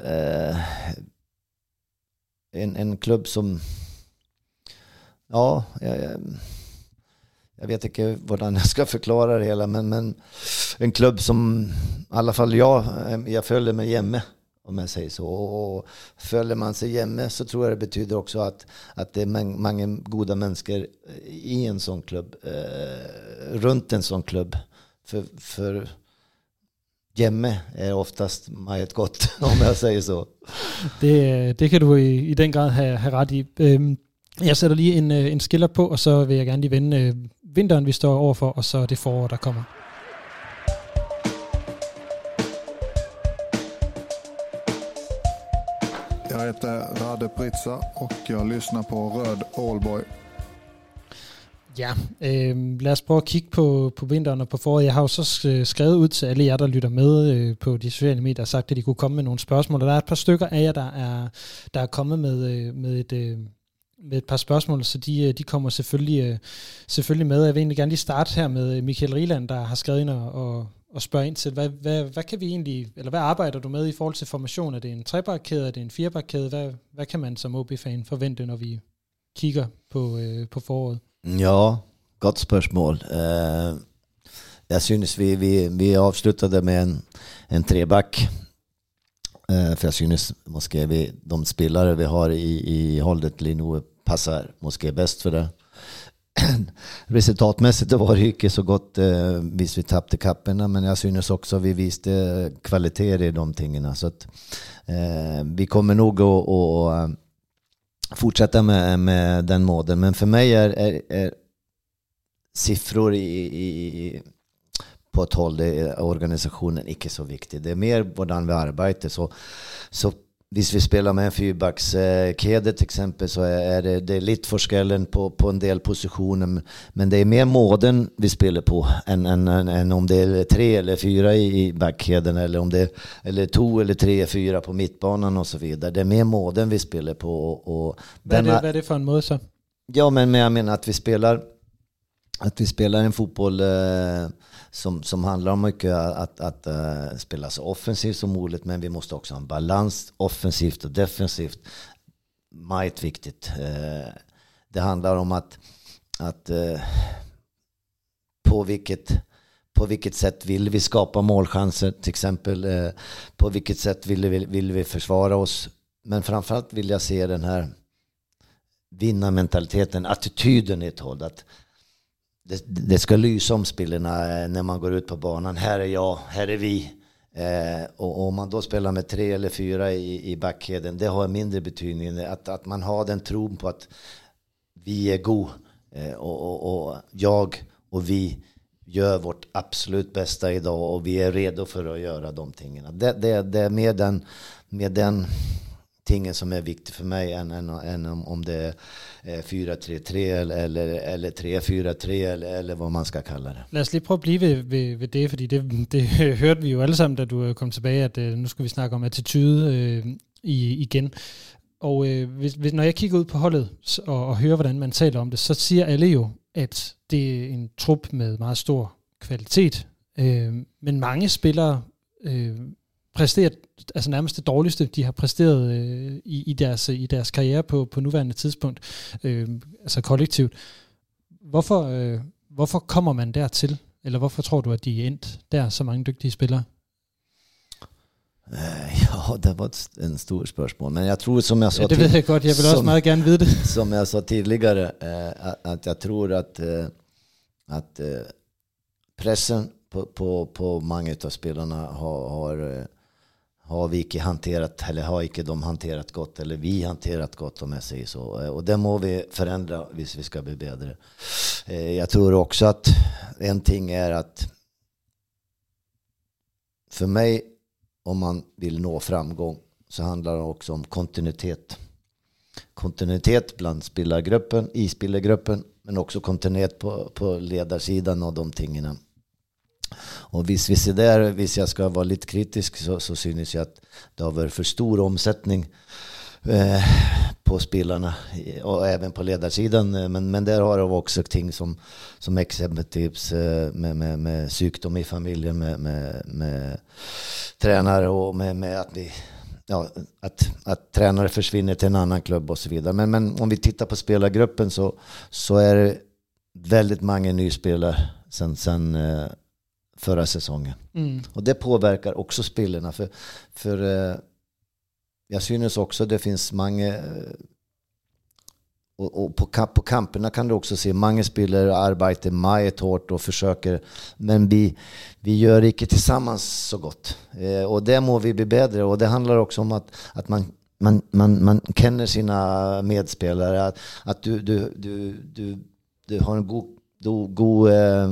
En klubb som, jag vet inte hur jag ska förklara det hela, men en klubb som i alla fall jag följer mig hemma, om jag säger så. Och följer man sig hemma, så tror jag det betyder också att det är många goda människor i en sån klubb, runt en sån klubb. För hjemme är oftast meget gott, om jag säger så. Det kan du i den grad have ret i. Jeg sætter lige en skiller på, og så vil jeg gerne lige vende vinteren, vi står overfor, og så det forår, der kommer. Jag heter Rade Pritsa och jag lyssnar på Röd Ålborg. Ja, lad os prøve at kigge på vinteren og på foråret. Jeg har jo så skrevet ud til alle jer, der lytter med på de sociale medier, og sagt, at de kunne komme med nogle spørgsmål. Og der er et par stykker af jer, der er kommet med et par spørgsmål, så de kommer selvfølgelig med. Jeg vil egentlig gerne lige starte her med Michael Rieland, der har skrevet ind og spørger ind til, hvad kan vi egentlig, eller hvad arbejder du med i forhold til formation? Er det en trebakkæde, er det en firebakkæde? Hvad kan man som OB-fan forvente, når vi kigger på foråret? Ja, gott spørgsmål. Jag synes vi avslutade med en treback. För jag synes måske de spelare vi har i hållet nu passar måske bäst för det. Resultatmässigt var det inte så gott vis vi tappade kapperna, men jag synes också vi visste kvaliteter i de tingarna, så att vi kommer nog att fortsätta med den måden. Men för mig är siffror på ett håll i organisationen inte så viktigt. Det är mer hvordan vi arbetar. Så hvis vi spelar med en fyrbackskedja till exempel, så är det lite forskellen på en del positioner, men det är mer måden vi spelar på än om det är 3 eller 4 i backkedjan, eller om det eller 2 eller 3 4 på mittbanan och så vidare. Det är mer måden vi spelar på. Och vad är det för en måde så? Ja, men jag menar att vi spelar en fotboll som handlar om mycket att spela så offensivt som möjligt, men vi måste också ha en balans offensivt och defensivt. Mycket viktigt. Det handlar om att på vilket sätt vill vi skapa målchanser till exempel, på vilket sätt vill vi försvara oss, men framförallt vill jag se den här vinnarmentaliteten, attityden i ett håll, att det ska lysa om spelarna när man går ut på banan. Här är jag, här är vi. Och om man då spelar med 3 eller 4 i backheden, det har mindre betydning. Att man har den tron på att vi är god, och jag och vi gör vårt absolut bästa idag, och vi är redo för att göra de tingen. Det är med den tingen som är viktigt för mig än om det är 4-3-3 eller 3-4-3 eller vad man ska kalla det. Lad os lige prøve at blive ved det, fordi det hørte vi jo alle sammen, da du kom tilbage, at nu skal vi snakke om attitude igen. Og når jeg kigger ud på holdet og hører, hvordan man taler om det, så siger alle jo, at det er en trup med meget stor kvalitet, men mange spillere præsterer altså nærmest det dårligste, de har præsteret i deres karriere på nuværende tidspunkt, altså kollektivt. Hvorfor kommer man dertil? Eller hvorfor tror du, at de er endt der, så mange dygtige spillere? Ja, det var en stor spørgsmål, men jeg tror, som jeg sa det ved jeg godt, jeg vil også meget gerne vide det. Som jeg sa tidigare, at jeg tror, at pressen på mange av spelarna har vi ikke hanterat, eller har ikke de hanterat godt, eller vi hanterat godt, om jeg säger så. Och det må vi förändra hvis vi ska bli bättre. Jag tror också att en ting är att för mig, om man vill nå framgång, så handlar det också om kontinuitet. Kontinuitet bland spelargruppen, i spelargruppen, men också kontinuitet på ledarsidan och de tingarna. Och hvis jag ska vara lite kritisk, så synes jag att det har varit för stor omsättning på spelarna och även på ledarsidan, men där har det också ting som exempelvis med sjukdom i familjen, med tränare och med att vi att tränare försvinner till en annan klubb och så vidare. Men om vi tittar på spelargruppen, så är det väldigt många nyspelare sen förra säsongen. Och det påverkar också spelarna, för jag synes också det finns många, och på kamperna kan du också se många spelare arbetar mycket hårt och försöker, men vi gör inte tillsammans så gott, och det må vi bli bättre. Och det handlar också om att man känner sina medspelare, att du har en god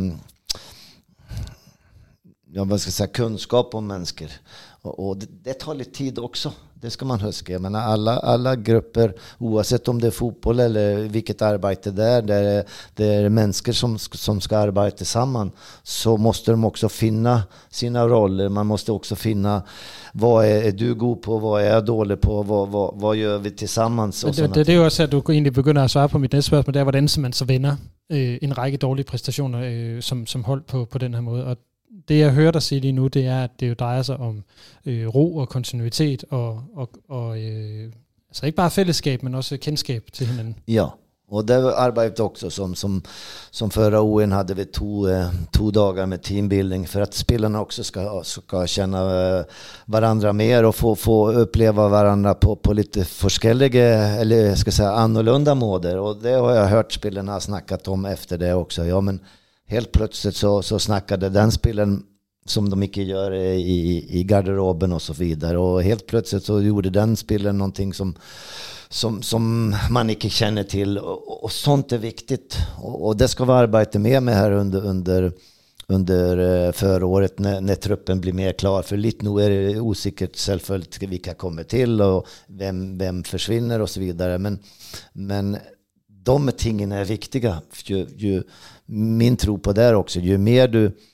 vad ska jag säga, kunskap om människor, och det tar lite tid också. Det ska man huska. Men alla grupper, oavsett om det är fotboll eller vilket arbete det är människor som ska arbeta samman, så måste de också finna sina roller. Man måste också finna, vad är du god på, vad är jag dålig på, vad gör vi tillsammans. Det är ju också att du egentlig begynder at svare på mit næste spørgsmål, det er, hvordan man så vender en række dårlige præstationer som hold på den her måde. Og det jeg hører dig sige lige nu, det er, at det jo drejer sig om ro og kontinuitet og altså ikke bare fællesskab, men også kendskab till hinanden. Ja, och det arbetet också som förra åren hade vi två dagar med teambuilding, för att spelarna också ska känna varandra mer och få uppleva varandra på lite forskelliga, eller ska säga annorlunda måder. Och det har jag hört spelarna snackat om efter det också. Ja, men helt plötsligt så snackade den spelaren som de inte gör i garderoben och så vidare. Och helt plötsligt så gjorde den spelaren någonting som man inte känner till. Och sånt är viktigt. Och det ska vi arbeta med här under under förra året när truppen blir mer klar. För lite nu är det osäkert självföljt vilka kommer till och vem försvinner och så vidare. Men de tingen är viktiga. Min tro på det också, ju mer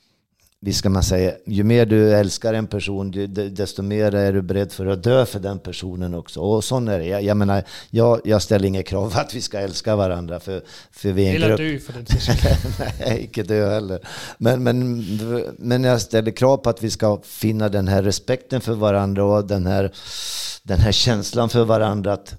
du älskar en person, desto mer är du beredd för att dö för den personen också. Och sån är det. Jag menar, jag ställer inga krav att vi ska älska varandra för vi är en grupp. Dö för den Nej, inte dö heller. Men jag ställer krav på att vi ska finna den här respekten för varandra och den här känslan för varandra att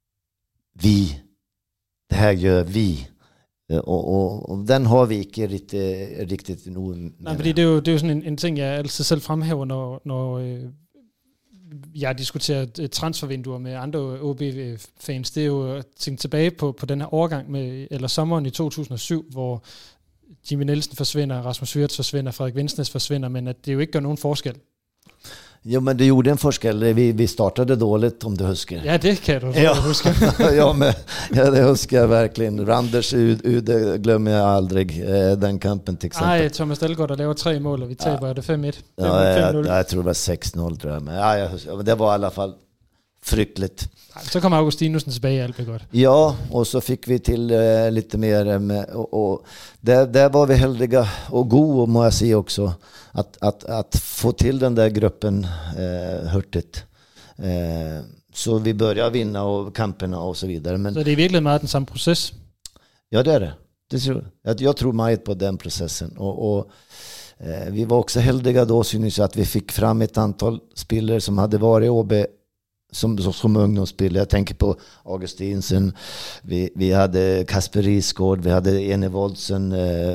det här gör vi. Og den har vi ikke riktigt nu. Nej, fordi det er jo sådan en ting, jeg altid selv fremhæver, når jeg diskuterer transfervinduer med andre OB-fans. Det er jo at tænke tilbage på den her overgang eller sommeren i 2007, hvor Jimmy Nielsen forsvinder, Rasmus Wirtz forsvinder, Frederik Vinsnes forsvinder, men at det jo ikke gør nogen forskel. Jo, men det gjorde en forskel. Vi startade dåligt, om du husker. Ja, det kan du huske. Ja, det husker jag verkligen. Randers Ude glömmer jag aldrig den kampen till exempel. Nej, Thomas Dahlgaard der laver 3 mål, og vi taber det 5-1. Ja, jag tror det var 6-0 tror jag. Men det var i alla fall frykligt. Så kom Augustinusen tilbage, alt blev godt. Ja, och så fick vi till lite mer och där var vi heldiga och god, må jag säga också, att få till den där gruppen hurtigt. Så vi börjar vinna och kamperna och så vidare. Men så det är virkelig meget den samme proces? Ja, det är det. Jag tror mycket på den processen. Och vi var också heldiga då, synes jag, att vi fick fram ett antal spelare som hade varit i OB som ungdomsspelare. Jag tänker på Augustinsen, vi hade Kasper Risgaard, vi hade Ene Woldsen.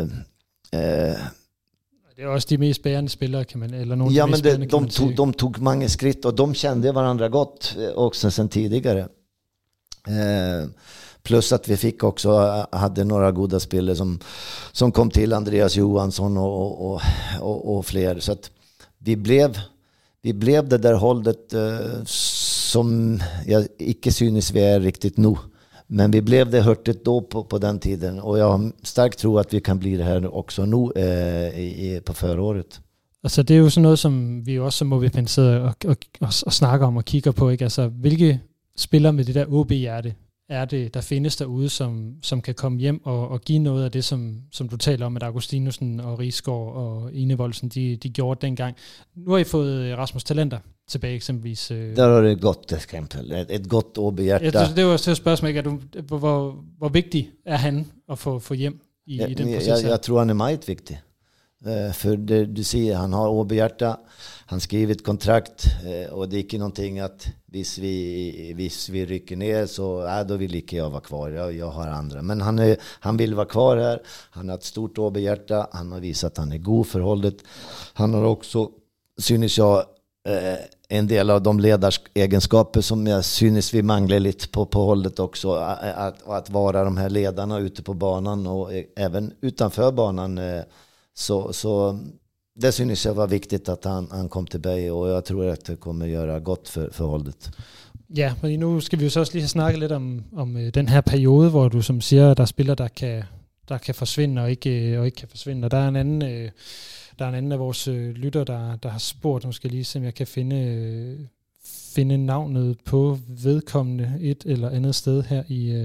Det är också de mest bärande spelare, kan man, eller någon. Ja, men de tog många skritt och de kände varandra gott också sen tidigare. Plus att vi fick också hade några goda spelare som kom till, Andreas Johansson och fler, så att vi blev det där hållet som jag icke synes vi är riktigt nu. Men vi blev det hörtigt då på den tiden. Och jag har starkt tro att vi kan bli det här också nu på förra året. Altså det er jo sådan noget, som vi også som OB-fans sidder og snakker om og kigger på, ikke? Altså hvilke spillere med det der OB-hjerte er det, der findes derude, som kan komme hjem og give noget af det, som du taler om, at Augustinusen og Risgaard og Ene Woldsen, de gjorde dengang. Nu har I fået Rasmus Talenter tilbage eksempelvis. Der har det et godt eksempel. Et godt OB-hjerte. Ja, det var også et spørgsmål, ikke? Hvor vigtig er han at få hjem i den proces her? Jeg tror, han er meget vigtig. För du ser, han har OB-hjärta, han skrivit kontrakt och det är inte någonting att hvis vi rycker ner så då vill inte jag vara kvar, jag har andra, men han vill vara kvar här, han har ett stort OB-hjärta, han har visat att han är god för hållet, han har också, synes jag, en del av de ledaregenskaper som jag synes vi manglar lite på hållet också, att vara de här ledarna ute på banan och även utanför banan. Så det synes jag var viktigt att han kom tillbaka, och jag tror att det kommer göra gott för håldet. Ja, men nu skal vi jo så også lige snakke lidt om den her periode, hvor du som siger, der er spillere, der kan forsvinde og ikke kan forsvinde. Og der er en anden af vores lytter, der har spurgt, nu skal jeg lige se, om jeg kan finde navnet på vedkommende et eller andet sted her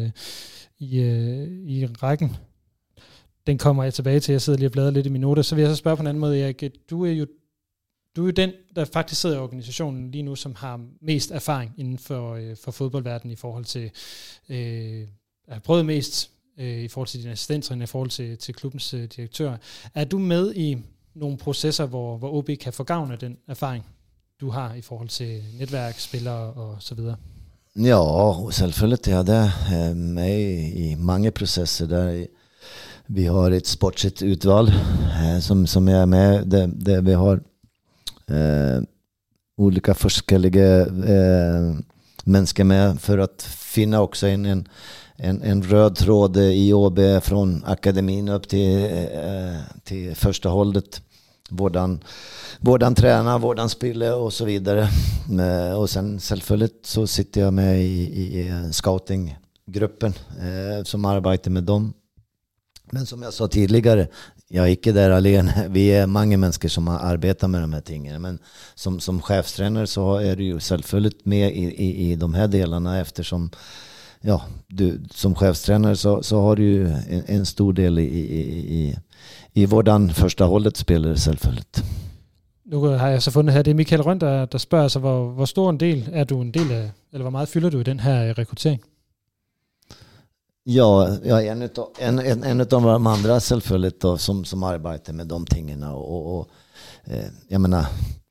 i rækken. Den kommer jeg tilbage til. Jeg sidder lige og bladrer lidt i mine noter. Så vil jeg så spørge på en anden måde, Erik. Du er jo den, der faktisk sidder i organisationen lige nu, som har mest erfaring inden for fodboldverdenen i forhold til har prøvet mest i forhold til dine assistenter, i forhold til klubbens direktør. Er du med i nogle processer, hvor OB kan få gavn af den erfaring, du har i forhold til netværk, spillere og så videre? Ja, selvfølgelig er det med i mange processer der. Vi har ett sportsligt utval som är med där vi har olika forskliga människor med för att finna också en röd tråd i OB från akademin upp till första hållet. Vårdan tränar, vårdan spelar och så vidare. Och sen självföljt så sitter jag med i scoutinggruppen som arbetar med dem. Men som jag sa tidigare, jag är inte där alene. Vi är många människor som arbetar med de här tingen. Men som chefstränare så är du ju självföljt med i de här delarna, eftersom du som chefstränare så har du ju en stor del i vårdan första hållet spelare självföljt. Nu har jeg så fundet her, det er Michael Røn, der spørger sig, hvor stor en del er du en del af, eller hvor meget fylder du i den her rekrytering? Ja, jag är en av de andra självföljt då, som arbetar med de tingarna och jag menar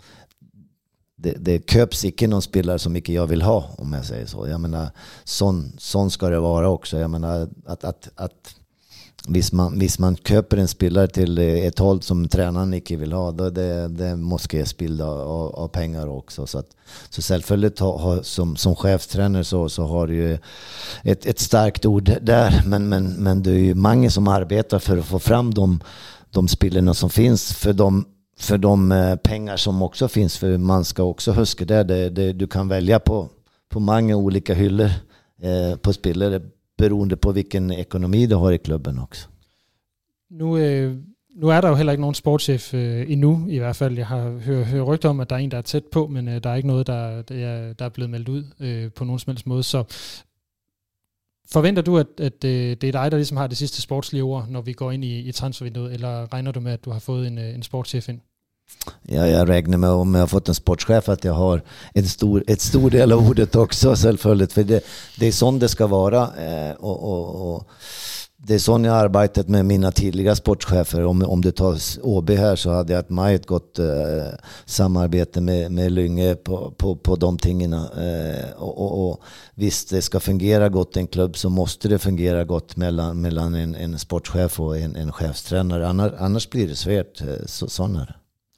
det köps inte någon spelare som inte jag vill ha, om jag säger så. Jag menar sån ska det vara också. Jag menar att hvis man köper en spelare till ett håll som tränaren inte vill ha, då det måste ges bild av pengar också. Så självföljt som chefstränare så har du ju ett starkt ord där, men det är ju många som arbetar för att få fram de spelarna som finns för de pengar som också finns, för man ska också huska där du kan välja på många olika hyllor på spelare beroende på vilken ekonomi du har i klubben også. Nu er der jo heller ikke nogen sportschef endnu, i hvert fald. Jeg har hørt rygter om, at der er en, der er tæt på, men der er ikke noget, der er blevet meldt ud på nogen som helst måde. Så forventer du, at det er dig, der ligesom har det sidste sportslige ord, når vi går ind i transfervinduet, eller regner du med, at du har fået en sportschef ind? Ja, jag räknar med, om jag har fått en sportchef, att jag har ett stor del av ordet också, självföljt. För det är sånt det ska vara. Och det är sånt jag har arbetat med mina tidiga sportchefer. Om du tar OB här, så hade jag ett gott samarbete med Lynge på de tingarna. Och visst, det ska fungera gott i en klubb, så måste det fungera gott mellan en sportchef och en chefstränare. Annars blir det svårt. Sån är det.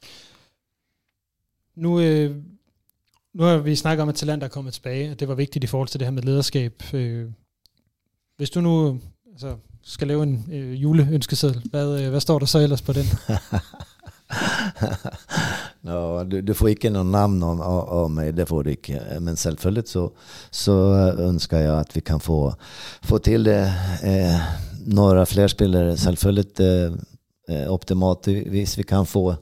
Nu har vi snakket om, at Talent er kommet tilbage, og det var vigtigt i forhold til det her med lederskab. Hvis du nu skal lave en juleønskeseddel, hvad står der så ellers på den? Ja, du får inte någon namn av mig, det får du inte. Men självföljt så önskar jag att vi kan få till några fler spelare. Självföljt optimalt vis vi kan få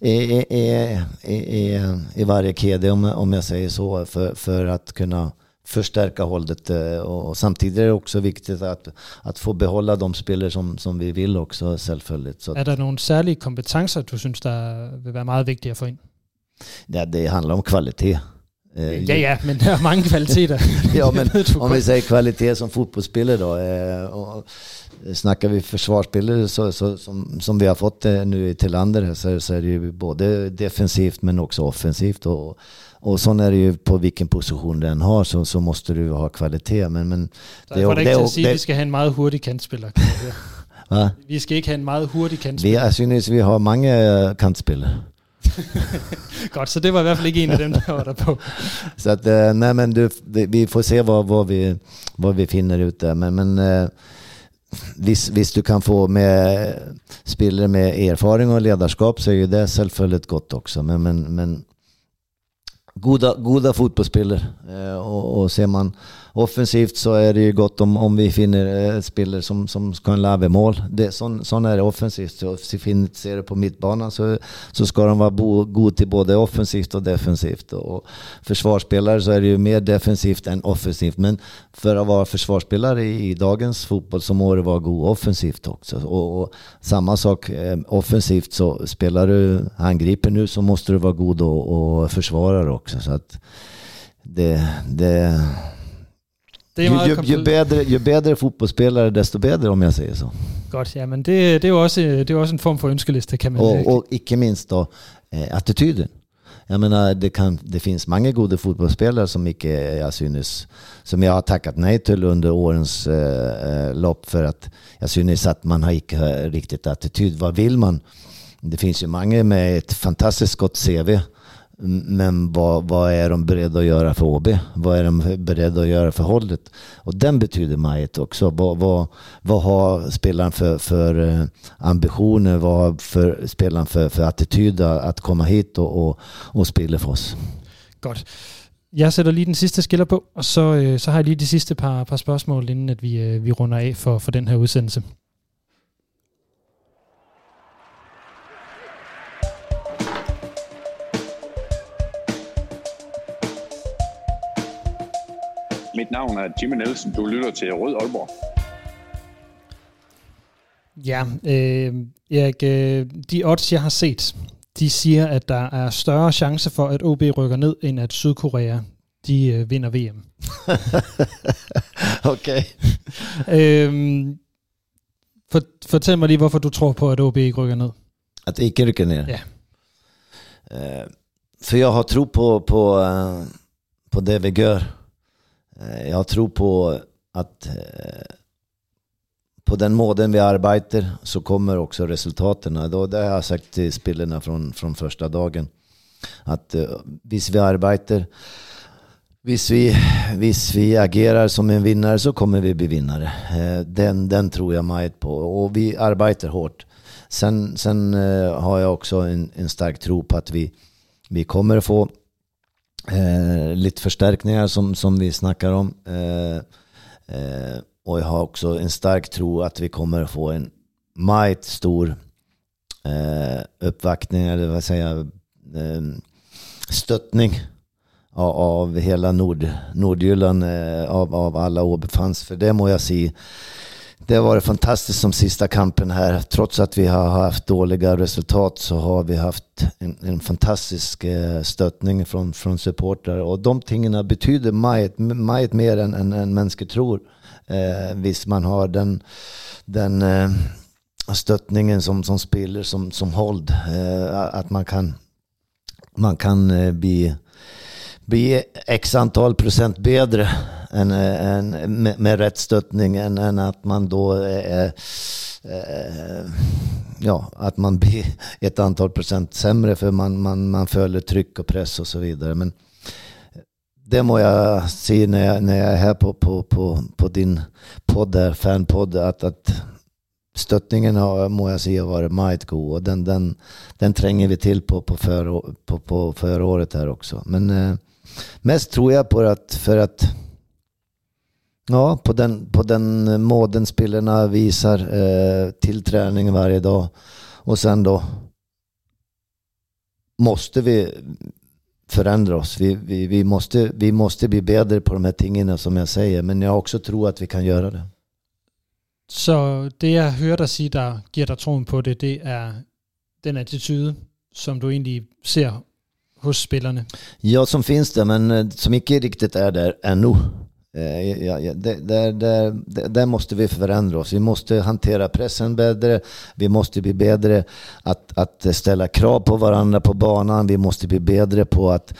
i varje kedja, om jag säger så, för att kunna förstärka hållet, och samtidigt är det också viktigt att få behålla de spelare som vi vill också, självföljt. Så är det nogle særlige kompetencer, du synes, der vil være meget vigtige at få ind? Ja, det handlar om kvalitet. Ja, men der er mange kvaliteter. Ja, men om vi säger kvalitet som fotbollsspelare då, och snackar vi försvarsspelare så som vi har fått nu i Tillander, så är det ju både defensivt men också offensivt, och så är det ju på vilken position den har, så måste du ha kvalitet, men det är ikke til at sige, at vi skal have en meget hurtig kantspiller. Va? Vi skal ikke have en meget hurtig kantspiller. Jeg synes, vi har mange kantspillere. Godt, så det var i hvert fald ikke en af dem, der var der på. Så att, nej, men vi får se vad vi finner ut där, men visst du kan få med spelare med erfaring och ledarskap, så är ju det självföljt gott också, men goda fotbollsspelare, och ser man offensivt så är det ju gott om vi finner spelare som kan lava mål. Sån är det offensivt. Så ser det på mittbanan så ska de vara god till både offensivt och defensivt. Och försvarsspelare så är det ju mer defensivt än offensivt. Men för att vara försvarsspelare i dagens fotboll så må det vara god offensivt också. Och samma sak offensivt, så spelar du angriper nu så måste du vara god och försvarare också. Så att ju bättre fotbollsspelare, desto bättre, om jag säger så. Godt, ja, men det er jo også en form for ønskeliste, kan man och inte minst då attityden. Jag menar, det finns många goda fotbollsspelare som jag synes, som jag har tackat nej till under årens lopp, för att jag synes att man har inte riktigt attityd. Vad vill man? Det finns ju många med ett fantastiskt gott CV. Men vad är de beredda att göra för OB? Vad är de beredda att göra för hållet? Och den betyder mycket också. Vad har spelaren för ambitioner? Vad har spelaren för attityd att komma hit och spela för oss? Godt. Jeg sætter lige den sidste skiller på, og så har jeg lige de sidste par spørgsmål, inden at vi runder af for den her udsendelse. navn er Jimmy Nielsen. Du lytter til Rød Aalborg. Ja, Erik, de odds, jeg har set, de siger, at der er større chance for, at OB rykker ned, end at Sydkorea, de vinder VM. Okay. Fortæl mig lige, hvorfor du tror på, at OB ikke rykker ned. Att ikke rykker ned? Ja. För jag har tro på det vi gör. Jag har tro på att på den måten vi arbetar så kommer också resultaten. Det har jag sagt till spelarna från första dagen. Att hvis vi arbetar, hvis vi agerar som en vinnare så kommer vi bli vinnare. Den tror jag mycket på. Och vi arbetar hårt. Sen har jag också en stark tro på att vi kommer att få lite förstärkningar som vi snackar om. Och jag har också en stark tro att vi kommer att få en mycket stor uppvaktning, eller vad säger stöttning av hela Nordjylland, av alla OB-fans. För det må jag säga, det var fantastiskt som sista kampen här. Trots att vi har haft dåliga resultat så har vi haft en fantastisk stöttning från supportrar. Och de tingena betyder mycket mer än människor tror. Hvis man har den stöttningen som spelar som håll. Att man kan bli x antal procent bättre med rätt stöttning än att man då att man blir ett antal procent sämre för man följer tryck och press och så vidare. Men det må jag se när jag är här på din podd där, fanpodd, att stöttningen må jag se varit mycket god, och den tränger vi till på förra året här också. Men mest tror jag på att för att på den måden spelarna visar till träning varje dag, och sen då måste vi förändra oss. Vi måste bli bättre på de här tingene som jag säger, men jag också tror att vi kan göra det. Så det jeg hører dig sige, der giver dig troen på det, det er den attitude, som du egentlig ser hos spillerne. Ja, som finns det, men som inte riktigt är där ännu. Där måste vi förändra oss. Vi måste hantera pressen bättre. Vi måste bli bättre att ställa krav på varandra på banan. Vi måste bli bättre på att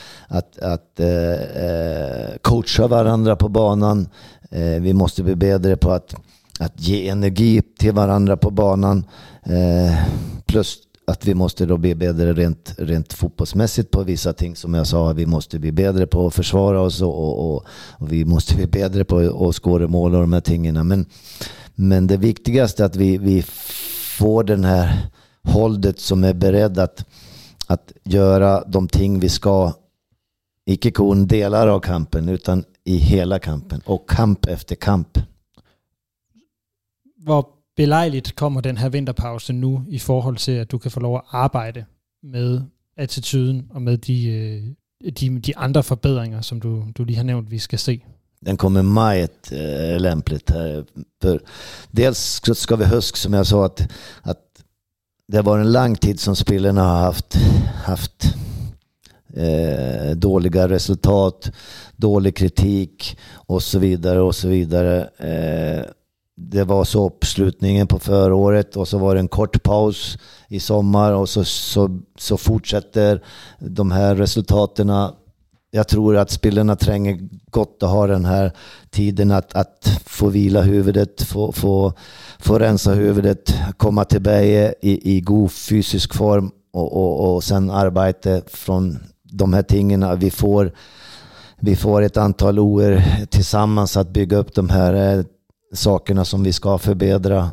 coacha varandra på banan. Vi måste bli bättre på att ge energi till varandra på banan. Plus att vi måste då bli bättre rent fotbollsmässigt på vissa ting, som jag sa. Vi måste bli bättre på att försvara oss och vi måste bli bättre på att skåra mål och de här tingarna. Men det viktigaste är att vi får den här hållet som är beredd att göra de ting vi ska, icke kun delar av kampen utan i hela kampen och kamp efter kamp. Hvor belejligt kommer den her vinterpause nu i forhold til, at du kan få lov at arbejde med attituden og med de andre forbedringer, som du lige har nævnt, vi skal se? Den kommer mycket lämpligt här. För dels ska vi huska, som jag sa, att det var en lång tid som spelarna har haft dåliga resultat, dålig kritik och så vidare och så vidare. Det var så uppslutningen på förra året, och så var det en kort paus i sommar, och så fortsätter de här resultaten. Jag tror att spelarna tränger gott att ha den här tiden att få vila huvudet, få rensa huvudet, komma tillbaka i god fysisk form och sen arbeta från de här tingarna. Vi får ett antal år tillsammans att bygga upp de här sakerna som vi ska förbättra,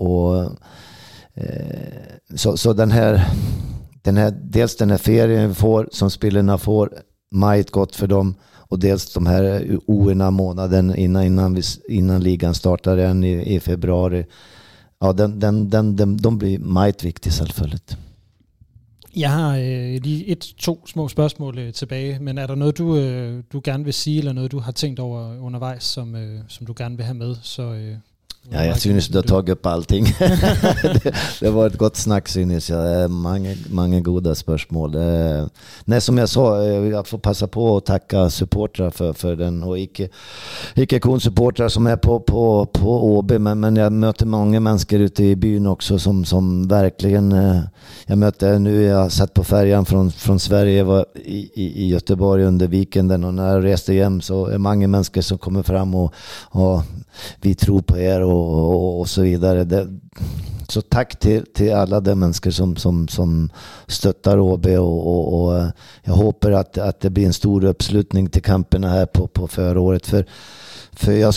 så den här dels den här ferien vi får, som spelarna får, mycket gott för dem, och dels de här oerna månaden innan ligan startar igen i februari. Ja, de blir mycket viktiga självfallet. Jeg har lige 1-2 små spørgsmål tilbage, men er der noget, du gerne vil sige, eller noget, du har tænkt over undervejs, som du gerne vil have med? Ja, jeg synes, du har tagit upp allting. det var ett gott snack, synes jag. Många goda spörsmål. Nej, som jag sa, jag får passa på att tacka supportrar för den och icke-kon-supportrar som är på OB, men jag möter många människor ute i byn också som verkligen, jag möter nu, jag satt på färjan från Sverige, var i Göteborg under weekenden, och när jag reste hem så är många människor som kommer fram och vi tror på er och så vidare. Så tack till alla de människor som stöttar OB, och jag hoppas att det blir en stor uppslutning till kamperna här på föråret, för jag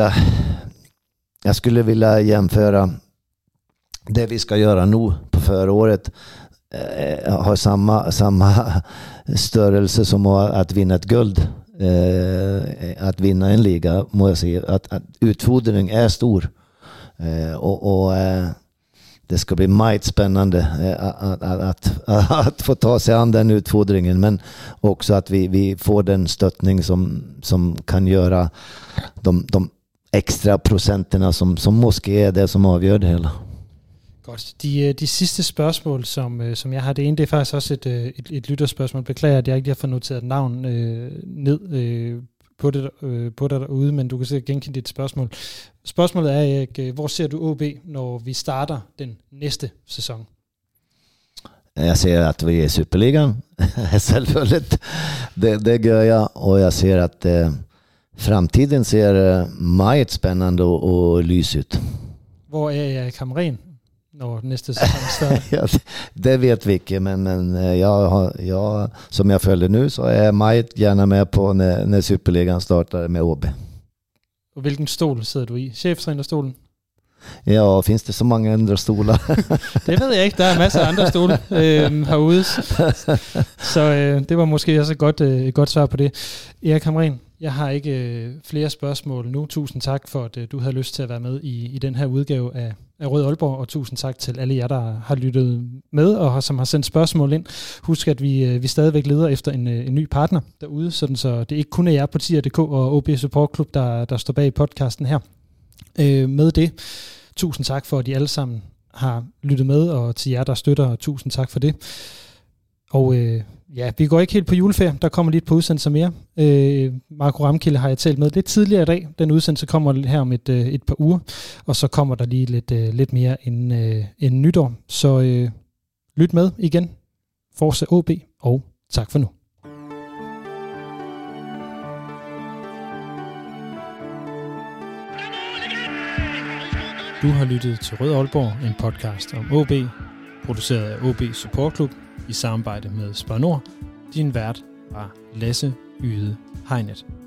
skulle vilja jämföra det vi ska göra nu på föråret, har samma störelse som att vinna ett guld. Att vinna en liga, må jag säga, att utfodring är stor, och det ska bli mycket spännande att få ta sig an den utfodringen, men också att vi får den stöttning som kan göra de extra procenterna som måske är det som avgör det hela. Godt. De sidste spørgsmål, som jeg har, det ene, det er faktisk også et lytterspørgsmål. Beklager, at jeg ikke har fået noteret navn ned på det derude, men du kan sikkert genkende dit spørgsmål. Spørgsmålet er, Erik, hvor ser du OB, når vi starter den næste sæson? Jag ser att vi är i Superligan, självfallet. Det gör jag, och jag ser att framtiden ser mycket spännande och lys ut. Hvor er Erik Hamrén, når næste sæson starter? Ja, det vet vi inte, men jag som jag följer nu, så är jag mycket gärna med på när Superligan startar med OB. Og hvilken stol sidder du i? Cheftrænerstolen? Ja, finns det så många andra stolar? Det ved jeg ikke. Der er masser af andre stole herude. Så det var måske også et godt svar på det. Erik Hamrén, jeg har ikke flere spørgsmål nu. Tusind tak for, at du havde lyst til at være med i den her udgave af Rød Aalborg, og tusind tak til alle jer, der har lyttet med og som har sendt spørgsmål ind. Husk, at vi stadigvæk leder efter en ny partner derude, sådan så det ikke kun er jer på Tier.dk og OB Support Club, der står bag podcasten her. Med det, tusind tak for, at I alle sammen har lyttet med, og til jer, der støtter, tusind tak for det. Og vi går ikke helt på juleferie, der kommer lige et par udsendelser mere. Marco Ramkilde har jeg talt med lidt tidligere i dag. Den udsendelse kommer her om et par uger, og så kommer der lige lidt mere end nytår. Så lyt med igen. Forza OB, og tak for nu. Du har lyttet til Rød Aalborg, en podcast om OB, produceret af OB Support Club i samarbejde med Spar Nord. Din vært var Lasse Yde Hegnet.